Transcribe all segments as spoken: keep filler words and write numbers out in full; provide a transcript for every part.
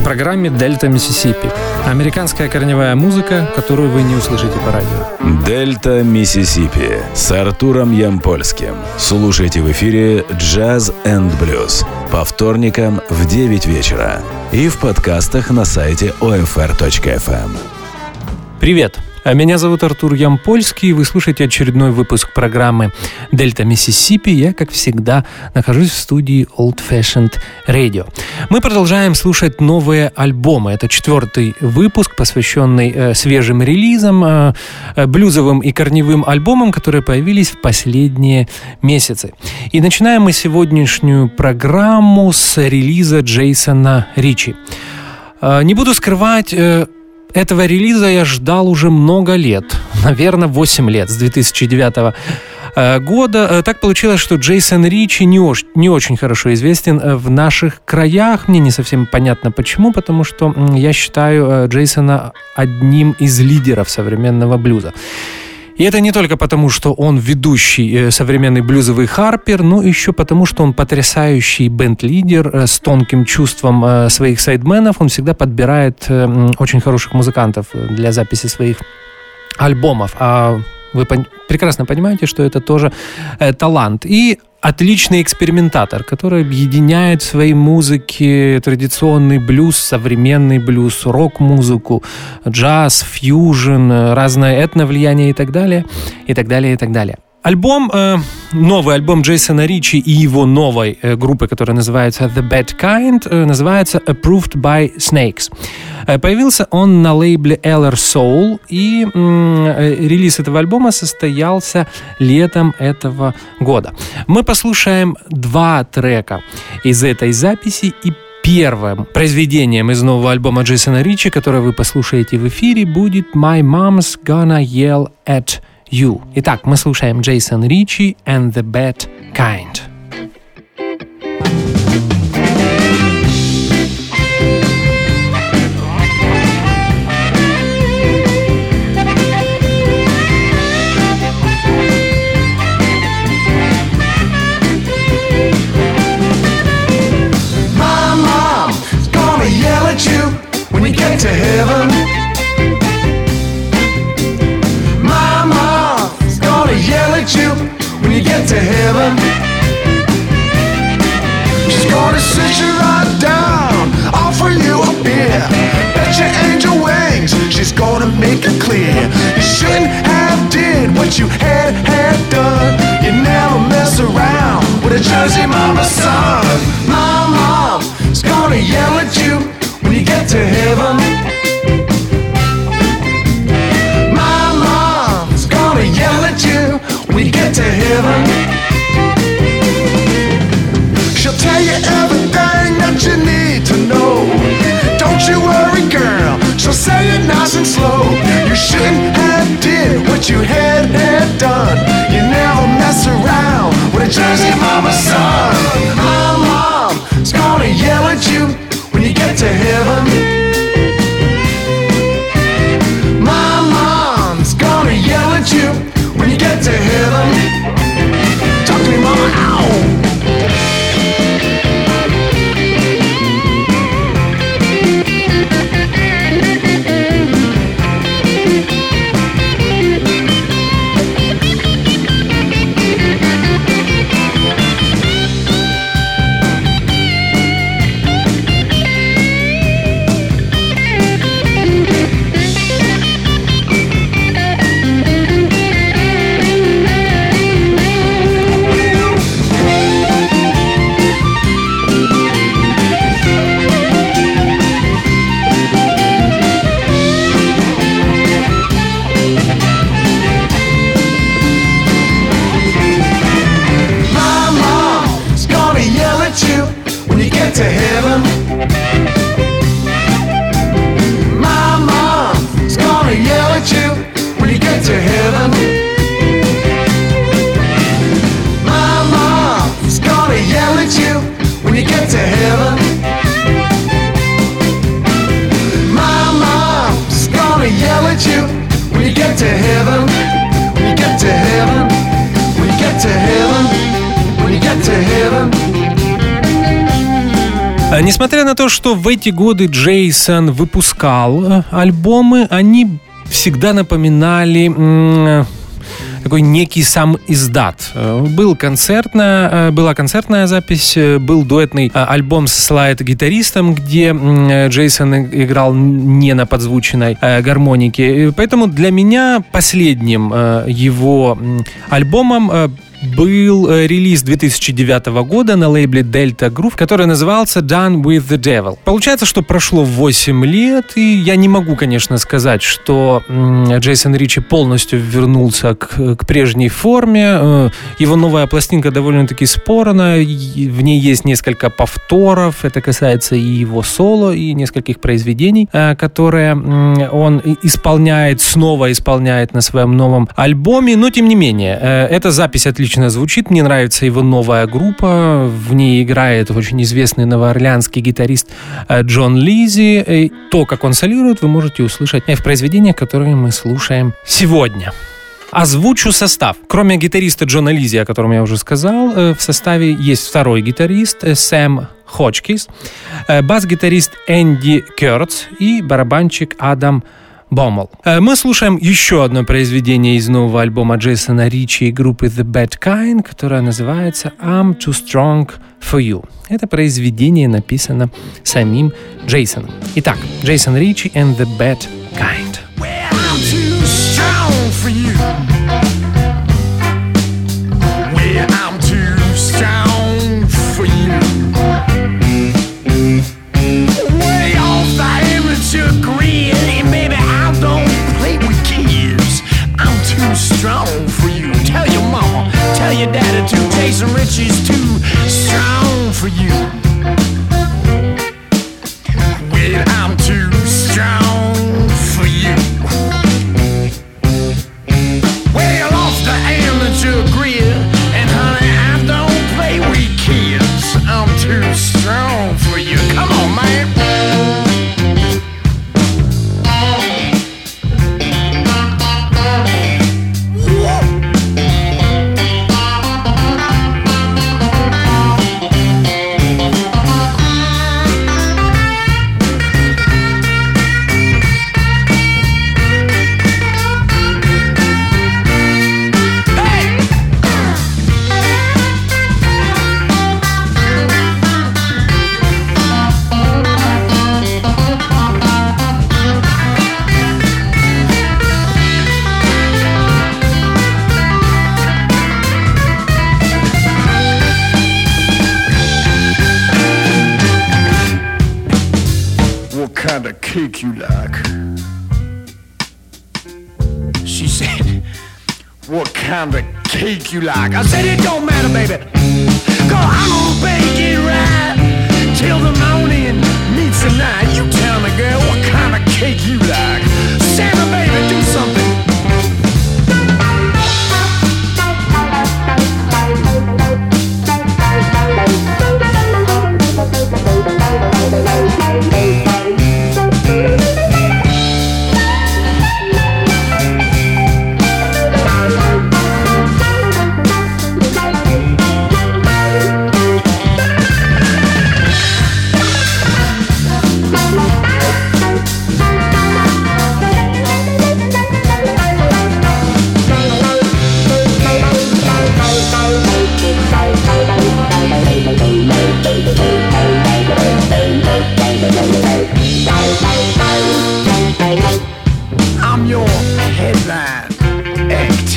программе «Дельта Миссисипи». Американская корневая музыка, которую вы не услышите по радио. «Дельта Миссисипи» с Артуром Ямпольским. Слушайте в эфире «Джаз энд блюз» по вторникам в девять вечера и в подкастах на сайте о эф эр точка эф эм. Привет! Меня зовут Артур Ямпольский, вы слушаете очередной выпуск программы «Дельта Миссисипи». Я, как всегда, нахожусь в студии Old Fashioned Radio. Мы продолжаем слушать новые альбомы. Это четвертый выпуск, посвященный э, свежим релизам, э, блюзовым и корневым альбомам, которые появились в последние месяцы. И начинаем мы сегодняшнюю программу с релиза Джейсона Ричи. Э, не буду скрывать... Э, Этого релиза я ждал уже много лет, наверное, восемь лет, с две тысячи девятого года. Так получилось, что Джейсон Ричи не, ош- не очень хорошо известен в наших краях. Мне не совсем понятно почему, потому что я считаю Джейсона одним из лидеров современного блюза. И это не только потому, что он ведущий современный блюзовый харпер, но еще потому, что он потрясающий бенд-лидер с тонким чувством своих сайдменов. Он всегда подбирает очень хороших музыкантов для записи своих альбомов. А вы прекрасно понимаете, что это тоже талант. И отличный экспериментатор, который объединяет в своей музыке традиционный блюз, современный блюз, рок-музыку, джаз, фьюжн, разное этновлияние и так далее, и так далее, и так далее. Альбом, э, новый альбом Джейсона Ричи и его новой э, группы, которая называется The Bad Kind, э, называется Approved by Snakes. Э, появился он на лейбле Eller Soul, и э, релиз этого альбома состоялся летом этого года. Мы послушаем два трека из этой записи, и первым произведением из нового альбома Джейсона Ричи, которое вы послушаете в эфире, будет My Mom's Gonna Yell at You. Итак, мы слушаем Джейсон Ричи and the Bad Kind. My mom's gonna yell at you when you get to heaven. Yell at you when you get to heaven. She's gonna sit you right down, offer you a beer, bet your angel wings, she's gonna make it clear you shouldn't have did what you had had done. You never mess around with a Jersey mama son. My mom's gonna yell at you when you get to heaven. Yell at you when you get to heaven. She'll tell you everything that you need to know. Don't you worry, girl, she'll say it nice and slow. You shouldn't have did what you had had done. You never mess around with a Jersey mama son. My mom's gonna yell at you when you get to heaven. Yell at you when you get to heaven. Talk to me, mama. Ow. To heaven. My mom's gonna yell at you when you get to heaven. My mom's gonna yell at you when you get to heaven. My mom's gonna yell at you when you get to heaven. When you get to heaven. When you get to heaven. When you get to heaven. Несмотря на то, что в эти годы Джейсон выпускал альбомы, они всегда напоминали такой некий сам издат. Был концертная, была концертная запись, был дуэтный альбом с слайд-гитаристом, где Джейсон играл не на подзвученной гармонике. Поэтому для меня последним его альбомом был релиз две тысячи девятого года на лейбле Delta Groove, который назывался Done with the Devil. Получается, что прошло восемь лет, и я не могу, конечно, сказать, что Джейсон Ричи полностью вернулся к, к прежней форме. Его новая пластинка довольно-таки спорная, в ней есть несколько повторов, это касается и его соло, и нескольких произведений, которые он исполняет, снова исполняет на своем новом альбоме, но тем не менее, эта запись отлично звучит, мне нравится его новая группа, в ней играет очень известный новоорлеанский гитарист Джон Лизи. И то, как он солирует, вы можете услышать в произведениях, которые мы слушаем сегодня. Озвучу состав. Кроме гитариста Джона Лизи, о котором я уже сказал, в составе есть второй гитарист Сэм Ходжкинс, бас-гитарист Энди Кёртс и барабанщик Адам Боммел. Мы слушаем еще одно произведение из нового альбома Джейсона Ричи и группы The Bad Kind, которое называется I'm Too Strong For You. Это произведение написано самим Джейсоном. Итак, Джейсон Ричи and The Bad Kind. Well, I'm too strong for you. Well, I'm too strong for you. Way off the amateur grid, and baby, I don't play with kids. I'm too strong for you. Tell your mama, tell your daddy too. Jason Ritchie's too strong for you. Well, I'm too strong for you. Well off the amateur grid, and honey, I don't play with kids. I'm too strong for you. Come on, man. Cake you like? She said, what kind of cake you like? I said, it don't matter, baby, 'cause I'm gonna bake it right till the morning meets the night. You tell me, girl, what kind of cake you like? Santa, baby, do something. I'm your headline act.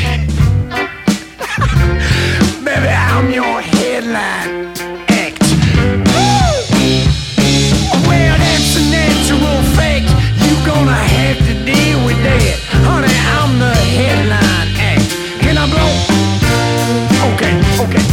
Baby, I'm your headline act. Well, that's a natural fact. You gonna have to deal with that. Honey, I'm the headline act. Can I blow? Okay, okay.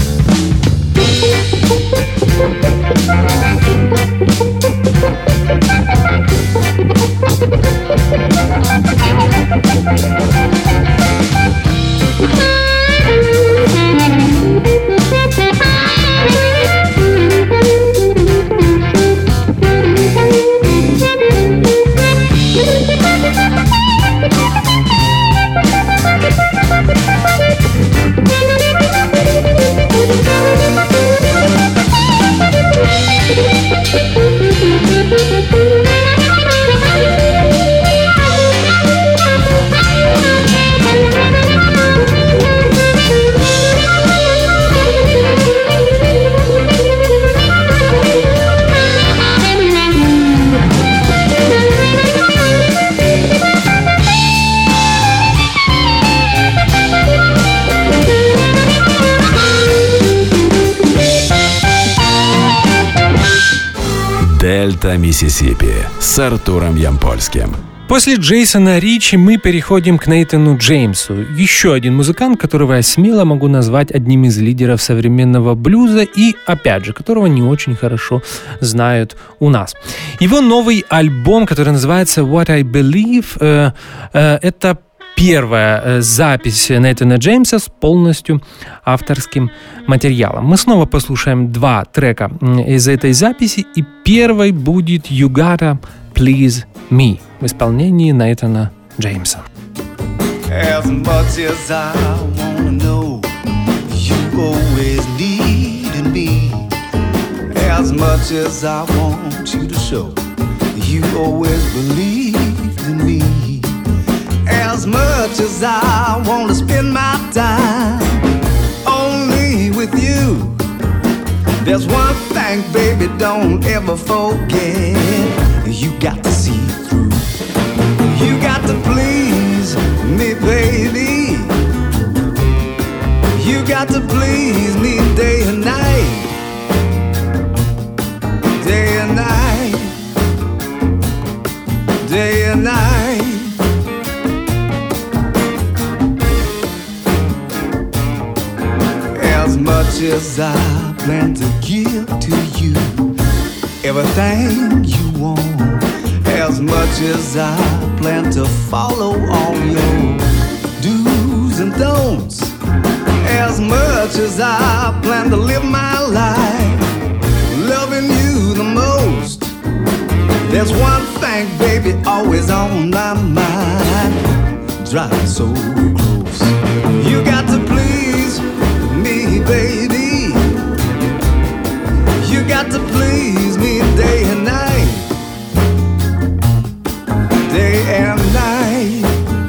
«Дельта Миссисипи» с Артуром Ямпольским. После Джейсона Ричи мы переходим к Нейтану Джеймсу. Еще один музыкант, которого я смело могу назвать одним из лидеров современного блюза и, опять же, которого не очень хорошо знают у нас. Его новый альбом, который называется «What I Believe», э, э, это первая запись Нейтана Джеймса с полностью авторским материалом. Мы снова послушаем два трека из этой записи, и первый будет «You Gotta Please Me» в исполнении Нейтана Джеймса. As much as I wanna know, you always needed me. As much as I want you to show, you always believed in me. As much as I wanna spend my time only with you, there's one thing, baby, don't ever forget. You got to see through. You got to please me, baby. You got to please me day and night. Day and night. Day and night. As much as I plan to give to you everything you want, as much as I plan to follow all your do's and don'ts, as much as I plan to live my life loving you the most, there's one thing, baby, always on my mind, driving so close. You got to please me, baby. You got to please me day and night. Day and night.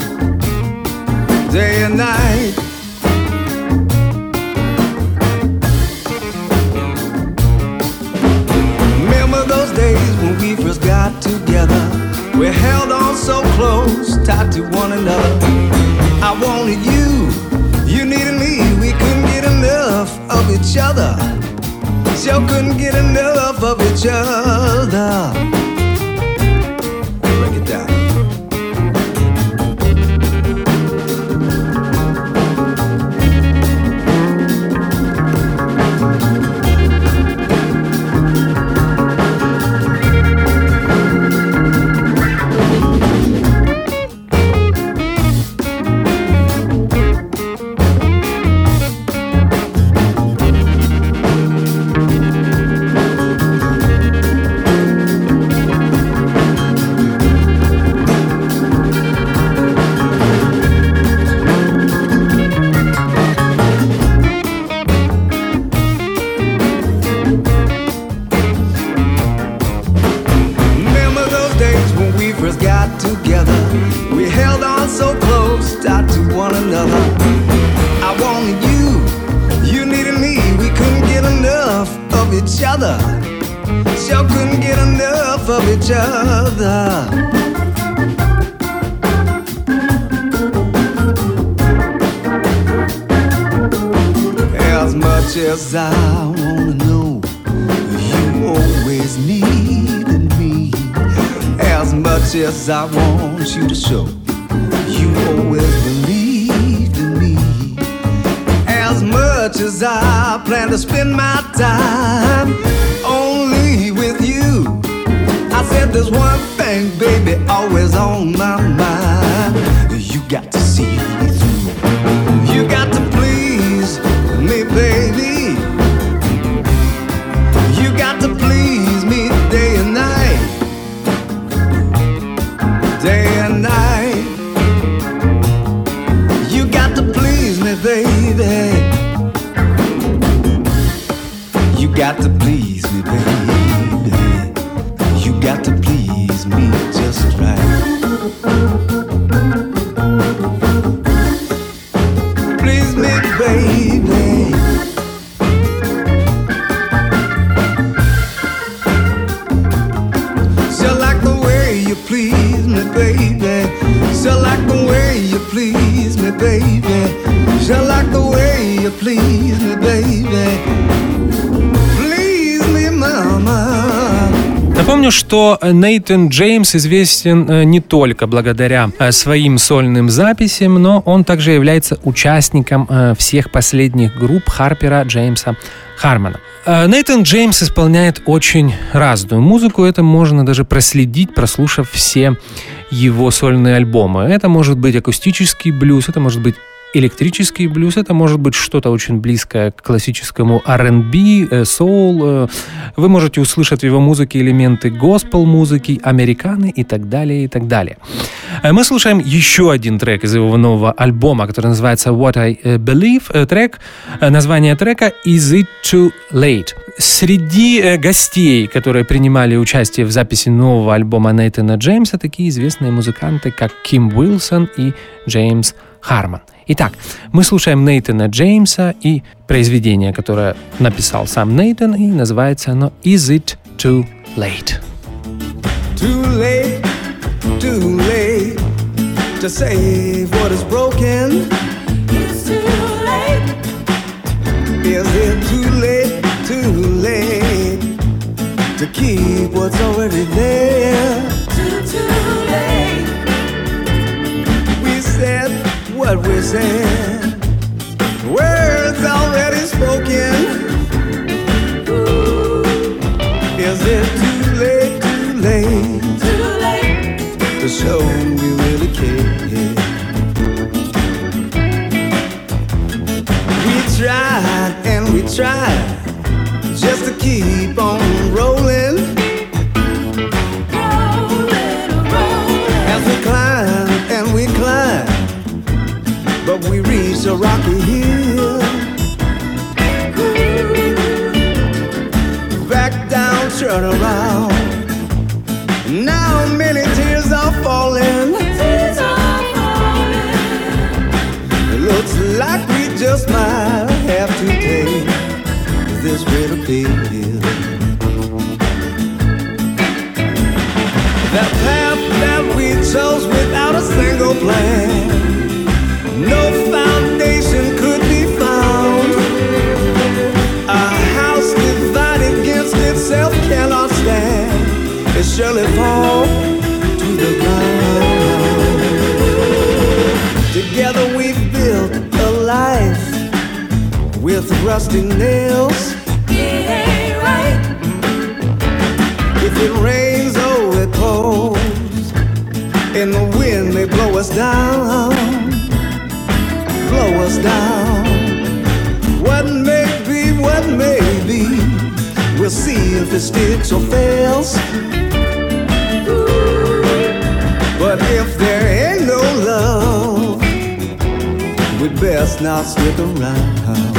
Day and night. Remember those days when we first got together? We held on so close, tied to one another. I wanted you, you needed me. We couldn't get enough of each other. Sure couldn't get enough of each other. Break it down. As I wanna know, you always needed me. As much as I want you to show, you always believed in me. As much as I plan to spend my time only with you, I said there's one thing, baby, always on my mind. You got to see me through. You got to please me, baby. You got to please me day and night. Day and night. You got to please me, baby. You got to please me, baby. You got to please me just right. Please me, baby. So like the way you please me, baby. So like the way you please me, baby. So like the way you please me, baby. Please me, mama. Напомню, что Нейтан Джеймс известен не только благодаря своим сольным записям, но он также является участником всех последних групп Харпера Джеймса Хармона. Нейтан Джеймс исполняет очень разную музыку, это можно даже проследить, прослушав все его сольные альбомы. Это может быть акустический блюз, это может быть электрический блюз, это может быть что-то очень близкое к классическому ар энд би, соул. Вы можете услышать в его музыке элементы госпел-музыки, американы и так далее, и так далее. Мы слушаем еще один трек из его нового альбома, который называется What I Believe. Трек, название трека Is It Too Late? Среди гостей, которые принимали участие в записи нового альбома Нейтана Джеймса, такие известные музыканты, как Ким Уилсон и Джеймс Хармон. Итак, мы слушаем Нейтана Джеймса и произведение, которое написал сам Нейтан, и называется оно «Is it too late?» Too late, too late to save what is broken. It's too late. Is it too late, too late to keep what's already there? Too, too late. We said what we said, words already spoken. Ooh. Is it too late, too late, too late to show we really care? We tried and we tried just to keep on rolling, rolling, rolling. As we climb and we climb, but we reached a rocky hill. Back down, turn around. Now many tears are falling. Tears are falling. It looks like we just might have to take this bitter pill. That path that we chose without a single plan, no foundation could be found. A house divided against itself cannot stand. It surely fall to the ground. Together we've built a life with rusty nails. It ain't right. If it rains, oh, it pours, and the wind may blow us down. Blow us down. What may be, what may be, we'll see if it sticks or fails. But if there ain't no love, we'd best not stick around.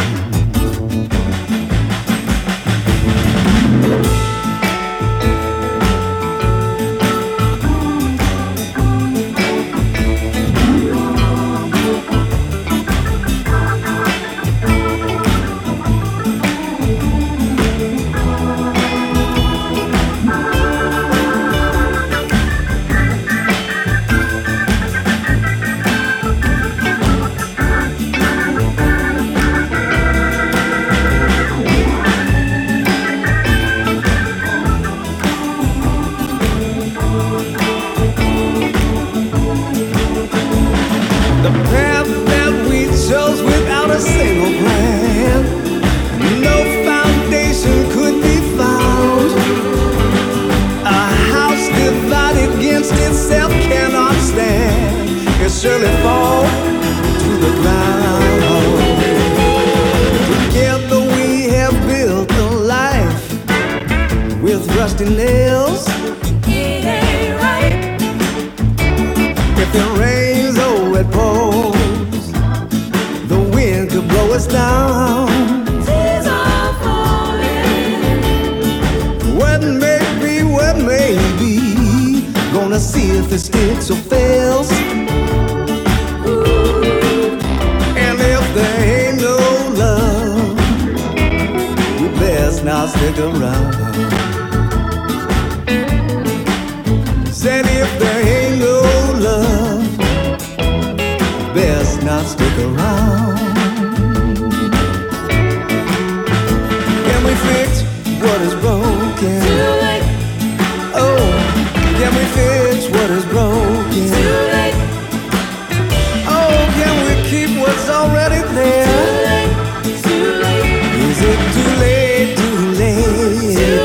Surely fall to the ground. Together we have built a life with rusty nails. It ain't right. If it rains, oh, it pours, the wind could blow us down. Tears are falling. What may be, what may be, gonna see if it sticks or fails. There ain't no love, we best not stick around. Said if there ain't no love, best not stick around. Can we fix what is broken? Too late.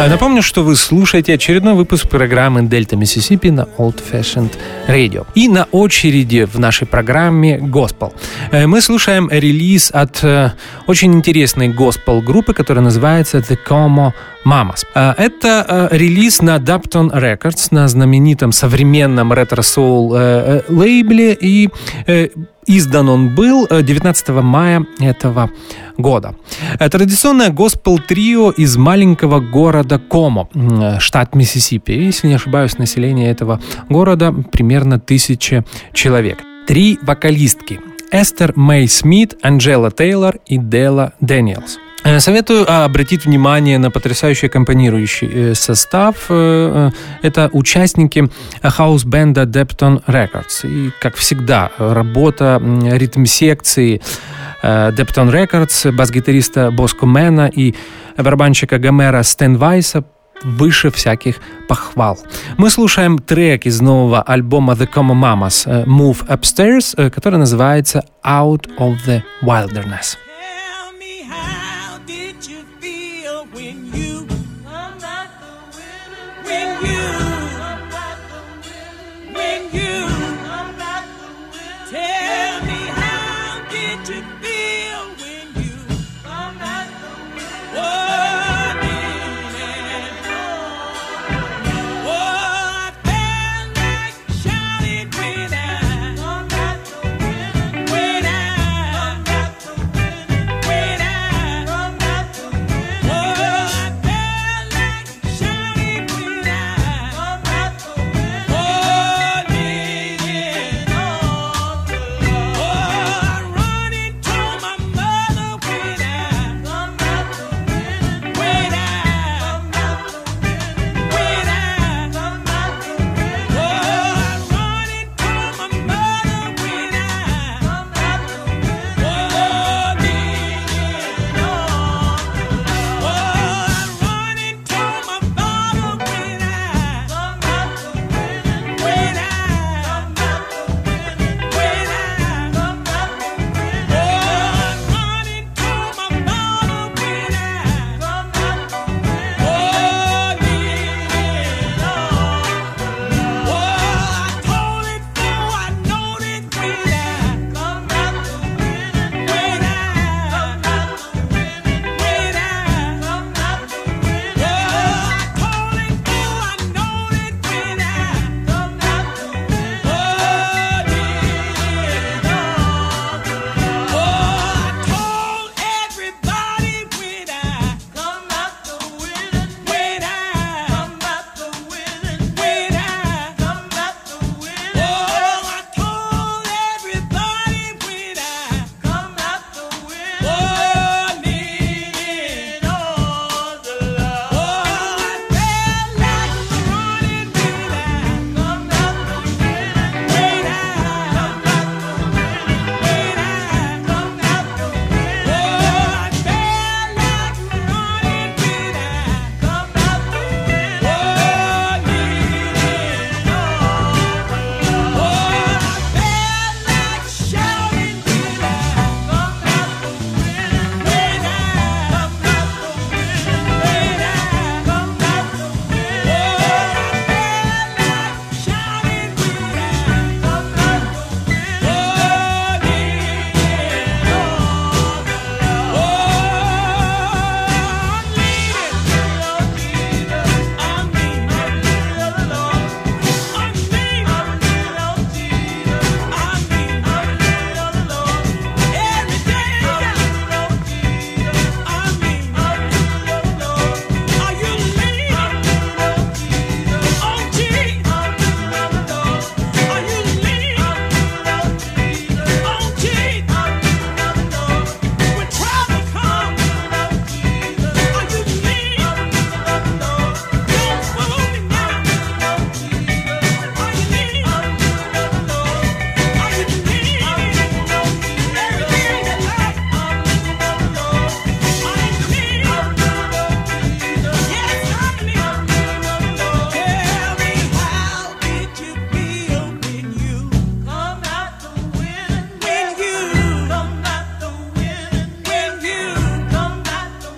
Напомню, что вы слушаете очередной выпуск программы «Дельта Миссисипи» на Old Fashioned Radio. И на очереди в нашей программе «Госпел». Мы слушаем релиз от очень интересной госпел-группы, которая называется The Como Mamas. Это релиз на Dapton Records, на знаменитом современном ретро-соул лейбле, и издан он был девятнадцатого мая этого года. Традиционное госпел-трио из маленького города Комо, штат Миссисипи. Если не ошибаюсь, население этого города примерно тысяча человек. Три вокалистки: Эстер Мэй Смит, Анджела Тейлор и Дела Дэниелс. Советую обратить внимание на потрясающий аккомпанирующий состав. Это участники хаус-бенда Dapton Records. И, как всегда, работа ритм-секции Dapton Records, бас-гитариста Боско Мэна и барабанщика Гомера Стенвайса выше всяких похвал. Мы слушаем трек из нового альбома The Como Mamas Move Upstairs, который называется Out of the Wilderness. When I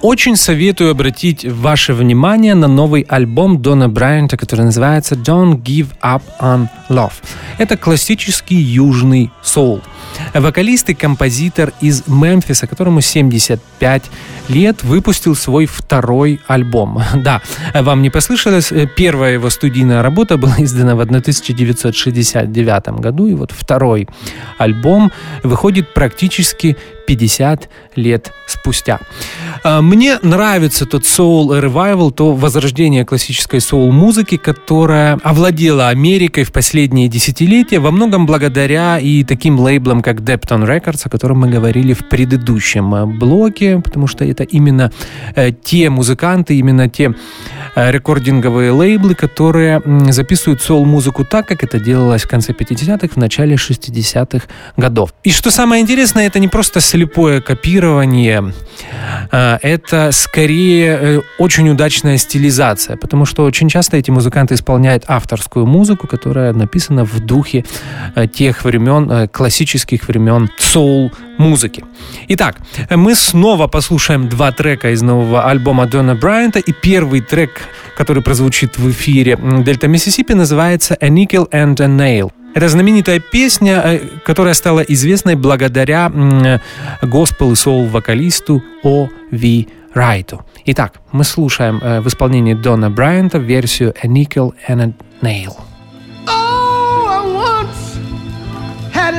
Очень советую обратить ваше внимание на новый альбом Дона Брайанта, который называется «Don't Give Up on Love». Это классический южный соул. Вокалист и композитор из Мемфиса, которому семьдесят пять лет, выпустил свой второй альбом. Да, вам не послышалось, первая его студийная работа была издана в тысяча девятьсот шестьдесят девятом году, и вот второй альбом выходит практически пятьдесят лет спустя. Мне нравится тот soul revival, то возрождение классической соул-музыки, которая овладела Америкой в последние десятилетия, во многом благодаря и таким лейблам, как Depton Records, о котором мы говорили в предыдущем блоке, потому что это именно те музыканты, именно те рекординговые лейблы, которые записывают соул-музыку так, как это делалось в конце пятидесятых, в начале шестидесятых годов. И что самое интересное, это не просто слепое копирование, это скорее очень удачная стилизация, потому что очень часто эти музыканты исполняют авторскую музыку, которая написана в духе тех времен, классических времен соул-музыки. Итак, мы снова послушаем два трека из нового альбома Дона Брайанта, и первый трек, который прозвучит в эфире Дельта Миссисипи, называется «A Nickel and a Nail». Это знаменитая песня, которая стала известной благодаря госпел- и соул-вокалисту О Ви Райту. Итак, мы слушаем в исполнении Дона Брайанта версию «A Nickel and a Nail». Oh, I once had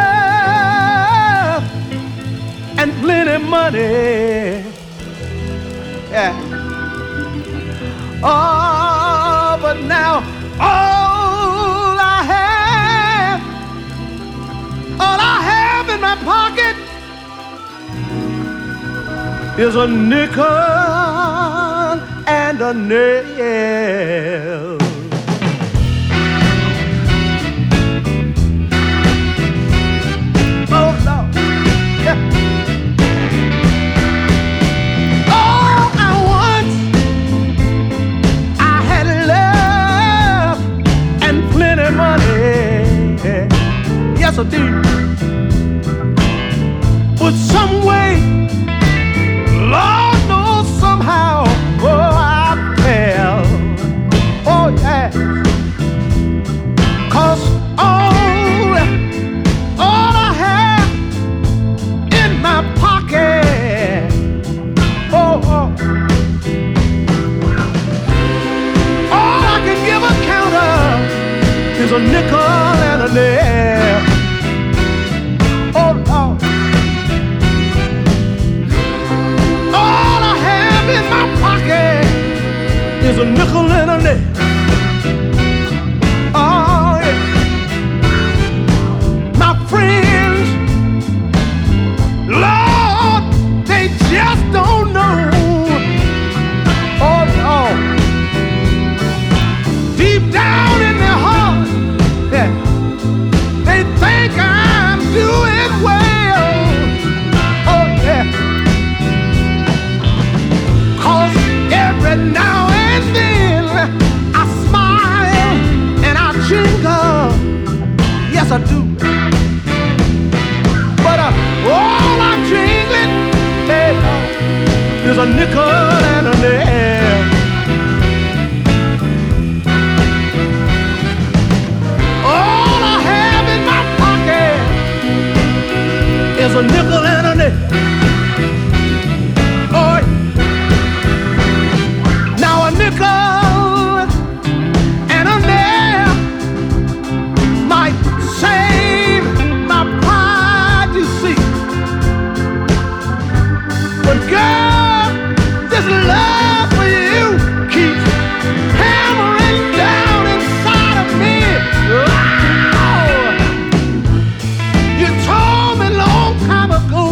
love and plenty money. Yeah. Oh, but now all I have, all I have in my pocket is a nickel and a nail. Oh, Lord. Yeah. Yes, I do. But some way, Lord knows somehow, oh, I fell. Oh, yeah. Cause all, all I have in my pocket, oh, oh, all I can give account of is a nickel and a nail. Is a nickel and a nail. Oh, yeah. My friends, Lord, they just don't know. Oh, Lord. Deep down in their heart, yeah, they think I'm doing well. Oh, yeah. Cause every now and then I smile and I jingle, yes I do. But uh, all I'm jingling, hey, is a nickel and a nail. All I have in my pocket is a nickel and a nail. Love for you keeps hammering down inside of me. Oh, you told me long time ago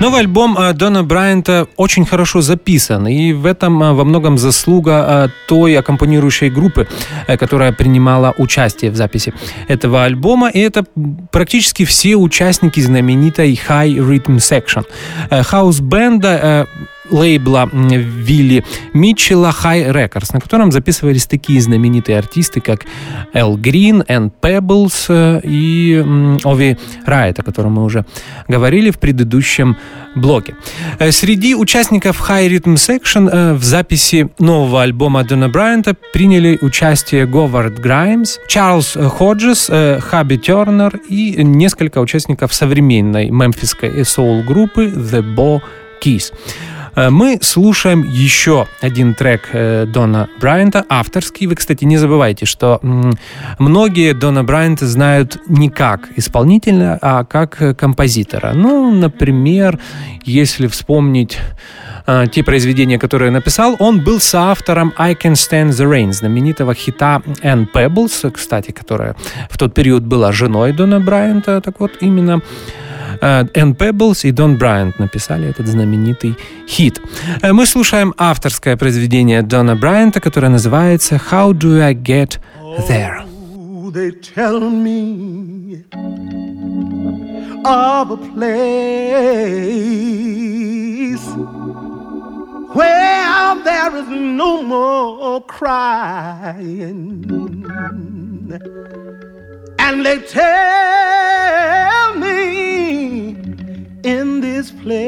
Новый альбом Дона Брайанта очень хорошо записан, и в этом во многом заслуга той аккомпанирующей группы, которая принимала участие в записи этого альбома, и это практически все участники знаменитой High Rhythm Section. Хаус-бенда лейбла Вилли Митчелла High Records, на котором записывались такие знаменитые артисты, как Эл Грин, Энн Пеблс и Ови Райт, о котором мы уже говорили в предыдущем блоке. Среди участников High Rhythm Section в записи нового альбома Дона Брайанта приняли участие Говард Граймс, Чарльз Ходжес, Хаби Тернер и несколько участников современной мемфисской соул-группы The Bo Keys. Мы слушаем еще один трек Дона Брайанта, авторский. Вы, кстати, не забывайте, что многие Дона Брайанта знают не как исполнителя, а как композитора. Ну, например, если вспомнить те произведения, которые написал, он был соавтором I Can Stand the Rain, знаменитого хита Энн Пеблс, кстати, которая в тот период была женой Дона Брайанта. Так вот, именно Энн Пеблс и Дон Брайант написали этот знаменитый хит. Мы слушаем авторское произведение Дона Брайанта, которое называется How Do I Get There? Oh, they tell me of a place where there is no more crying. And they tell me in this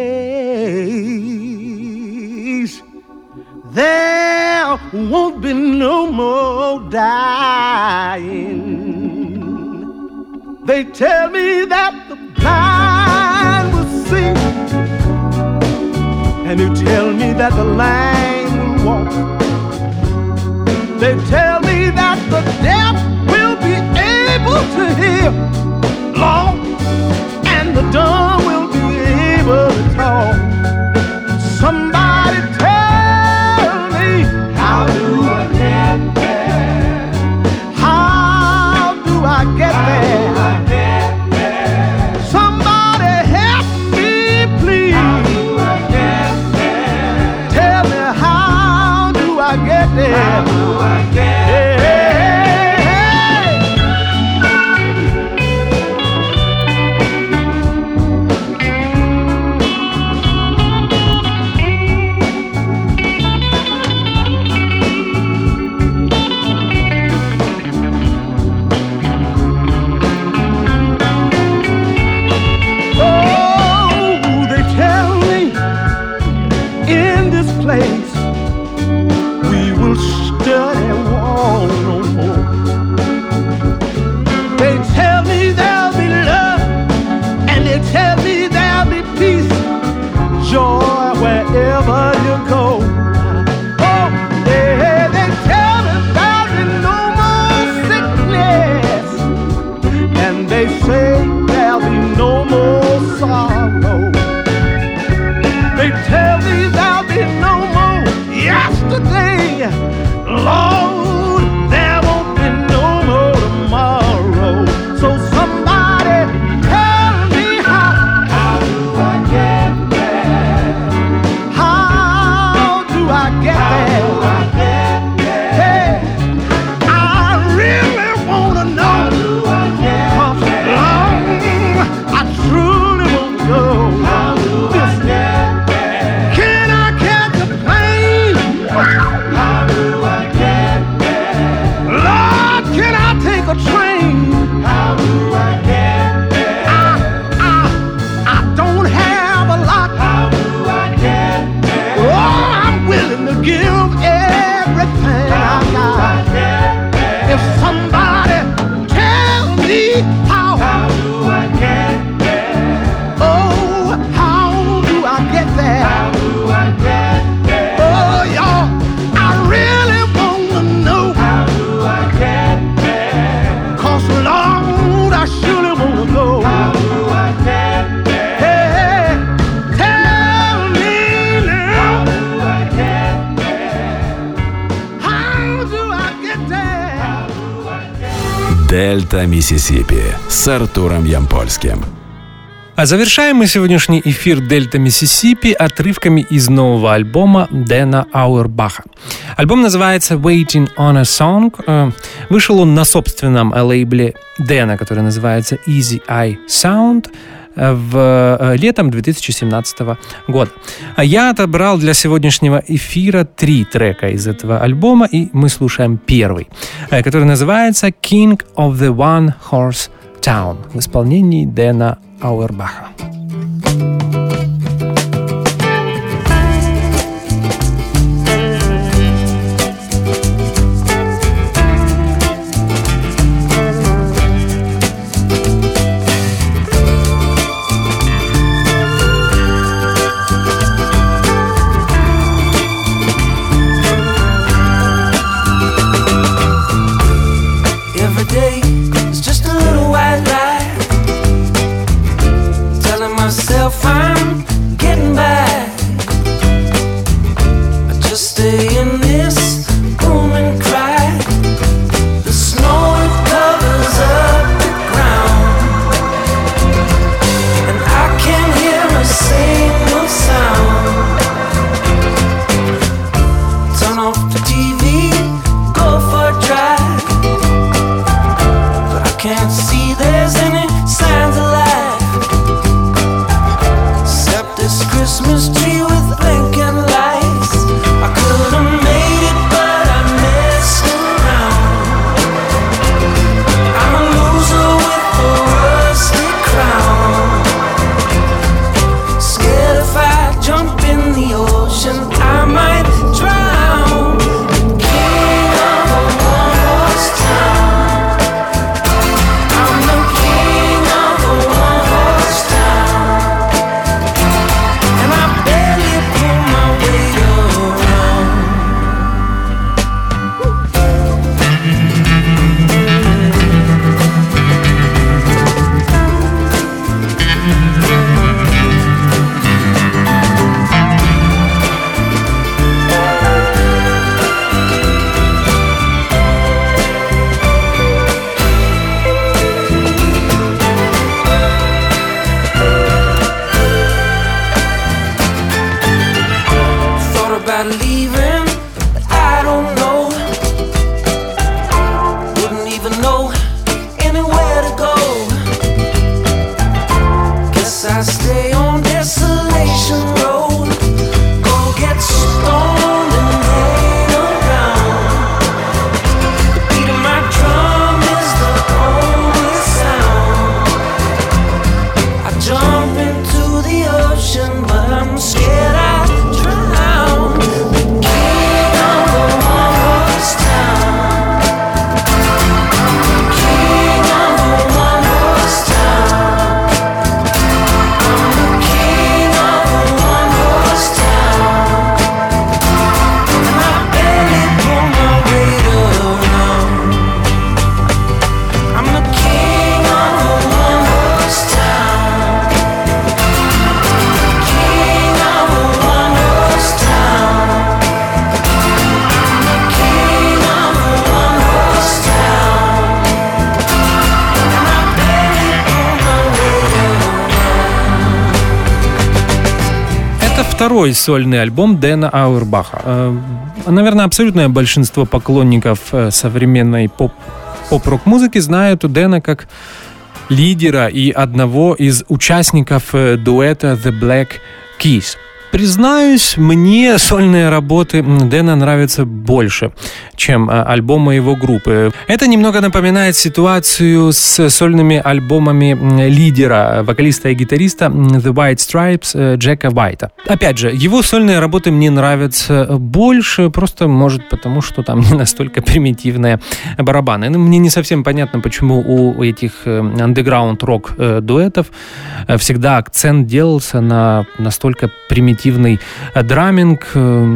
place there won't be no more dying. They tell me that the blind will see, and they tell me that the lame will walk. They tell me that the deaf will be able to hear, Lord, and the dumb will be able to talk. Somebody tell me, how do I get there? How do I get there? How do I get there? Somebody help me, please. How do I get there? Tell me, how do I get there? How do I get there? Дельта Миссисипи с Артуром Ямпольским. А завершаем мы сегодняшний эфир «Дельта Миссисипи» отрывками из нового альбома Дэна Ауэрбаха. Альбом называется «Waiting on a Song». Вышел он на собственном лейбле Дэна, который называется Easy Eye Sound, в летом две тысячи семнадцатого года. А я отобрал для сегодняшнего эфира три трека из этого альбома, и мы слушаем первый, который называется «King of the One Horse Town» в исполнении Дэна Ауэрбаха. Второй сольный альбом Дэна Ауэрбаха. Наверное, абсолютное большинство поклонников современной поп- поп-рок-музыки знают Дэна как лидера и одного из участников дуэта The Black Keys. Признаюсь, мне сольные работы Дэна нравятся больше, чем альбомы его группы. Это немного напоминает ситуацию с сольными альбомами лидера, вокалиста и гитариста The White Stripes Джека Уайта. Опять же, его сольные работы мне нравятся больше, просто, может, потому что там не настолько примитивные барабаны. Ну, мне не совсем понятно, почему у этих андеграунд-рок дуэтов всегда акцент делался на настолько примитивные драминг.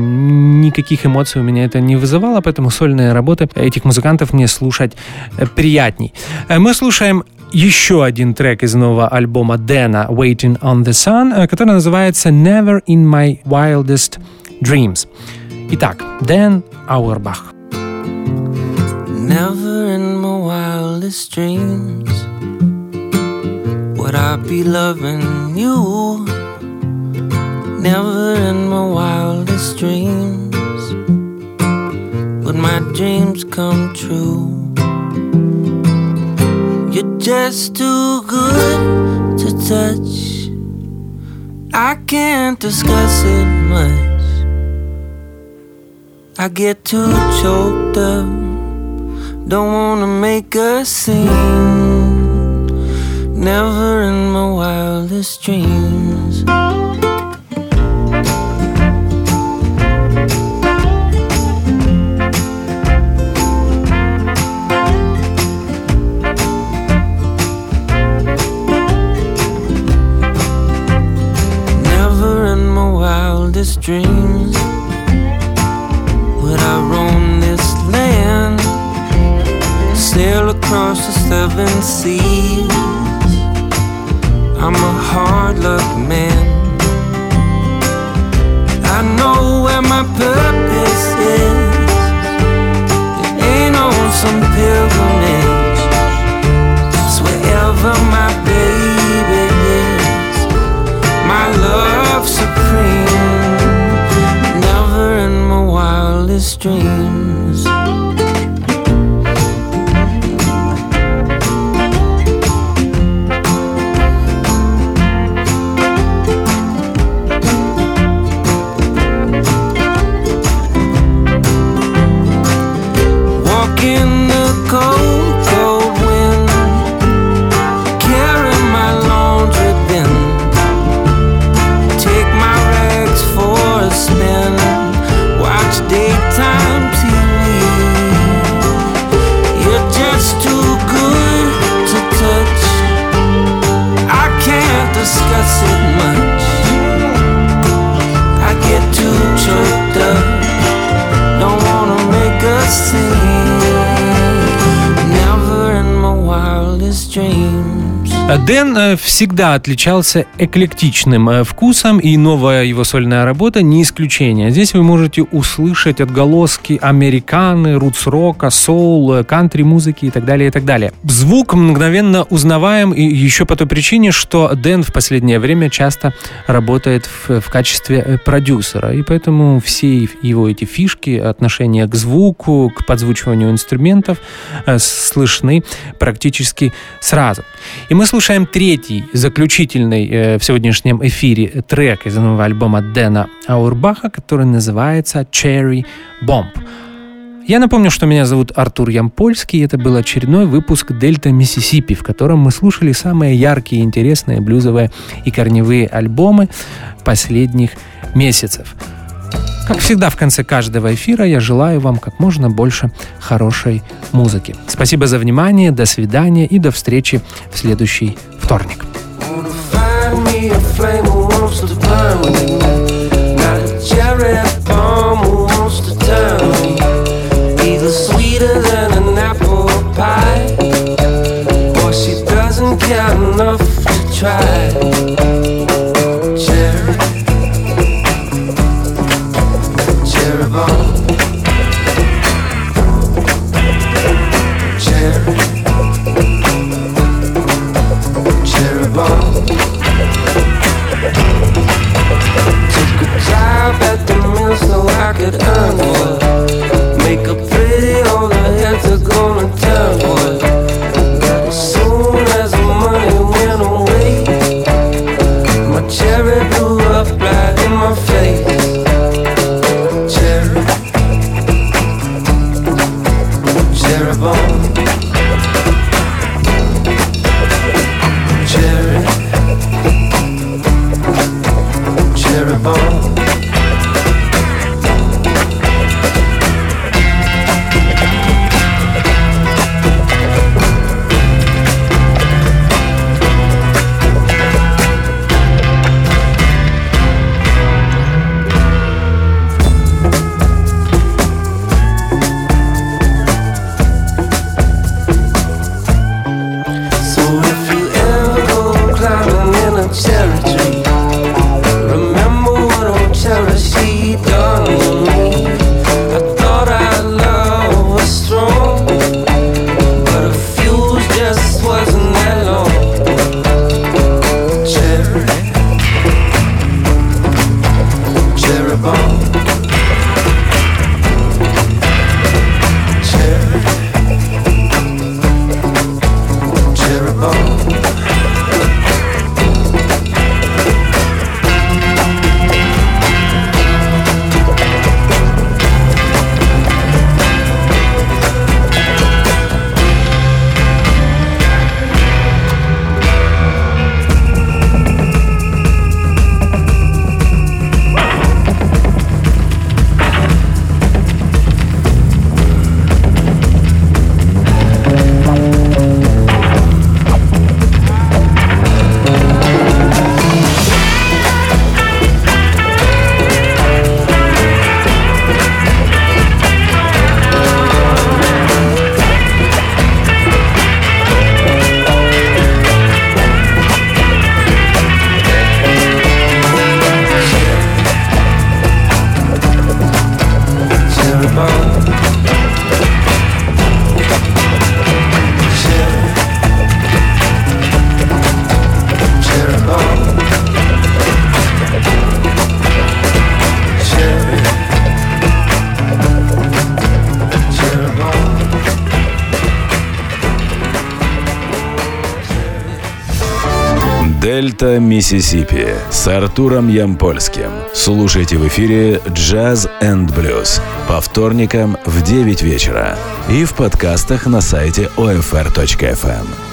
Никаких эмоций у меня это не вызывало, поэтому сольные работы этих музыкантов мне слушать приятней. Мы слушаем еще один трек из нового альбома Дэна «Waiting on the Sun», который называется «Never in my wildest dreams». Итак, Дэн Ауэрбах. Never in my wildest dreams would I be loving you? Never in my wildest dreams would my dreams come true. You're just too good to touch. I can't discuss it much. I get too choked up. Don't wanna make a scene. Never in my wildest dreams. Dreams would I roam this land, sail across the seven seas. I'm a hard luck man. I know where my purpose is. It ain't on some pilgrimage. It's wherever my baby is. My love supreme. Dreams. Walk in the cold, cold wind, carry my laundry bin, take my rags for a spin, watch daytime T V. You're just too good to touch. I can't discuss it much. I get too choked up. Don't wanna make a scene. Never in my wildest dreams. Дэн всегда отличался эклектичным вкусом, и новая его сольная работа не исключение. Здесь вы можете услышать отголоски американы, рутс-рока, соул, кантри-музыки и так далее, и так далее. Звук мгновенно узнаваем, и еще по той причине, что Дэн в последнее время часто работает в, в качестве продюсера, и поэтому все его эти фишки, отношения к звуку, к подзвучиванию инструментов слышны практически сразу. И мы слушаем третий, заключительный э, в сегодняшнем эфире трек из нового альбома Дэна Аурбаха, который называется «Cherry Bomb». Я напомню, что меня зовут Артур Ямпольский, и это был очередной выпуск «Дельта Миссисипи», в котором мы слушали самые яркие, интересные блюзовые и корневые альбомы последних месяцев. Как всегда, в конце каждого эфира я желаю вам как можно больше хорошей музыки. Спасибо за внимание, до свидания и до встречи в следующий вторник. Дельта Миссисипи с Артуром Ямпольским. Слушайте в эфире Jazz энд Blues по вторникам в девять вечера и в подкастах на сайте о эф эр точка эф эм.